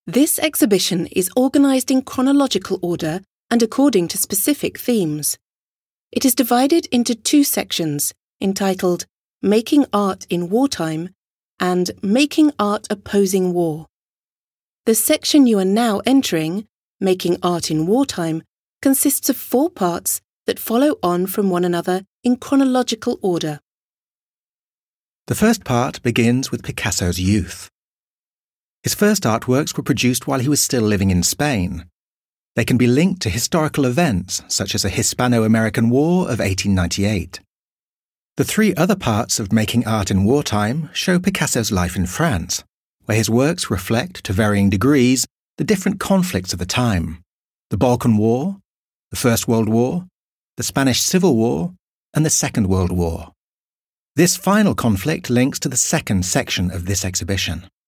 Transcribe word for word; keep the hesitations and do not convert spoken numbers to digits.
This exhibition is organised in chronological order and according to specific themes. It is divided into two sections entitled Making Art in Wartime and Making Art Opposing War. The section you are now entering, Making Art in Wartime, consists of four parts that follow on from one another in chronological order. The first part begins with Picasso's youth. His first artworks were produced while he was still living in Spain. They can be linked to historical events such as the Hispano-American War of eighteen ninety-eight. The three other parts of Making Art in Wartime show Picasso's life in France, where his works reflect, to varying degrees, the different conflicts of the time: the Balkan War, the First World War, the Spanish Civil War, and the Second World War. This final conflict links to the second section of this exhibition.